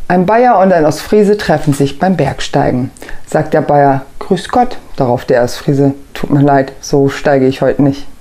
Ein Bayer und ein Ostfriese treffen sich beim Bergsteigen. Sagt der Bayer: Grüß Gott. Darauf der Ostfriese: Tut mir leid, so steige ich heute nicht.